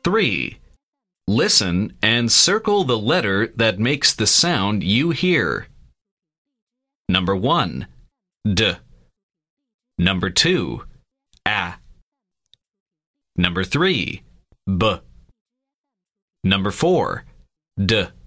3. Listen and circle the letter that makes the sound you hear. Number 1. D. Number 2. A. Number 3. B. Number 4. D.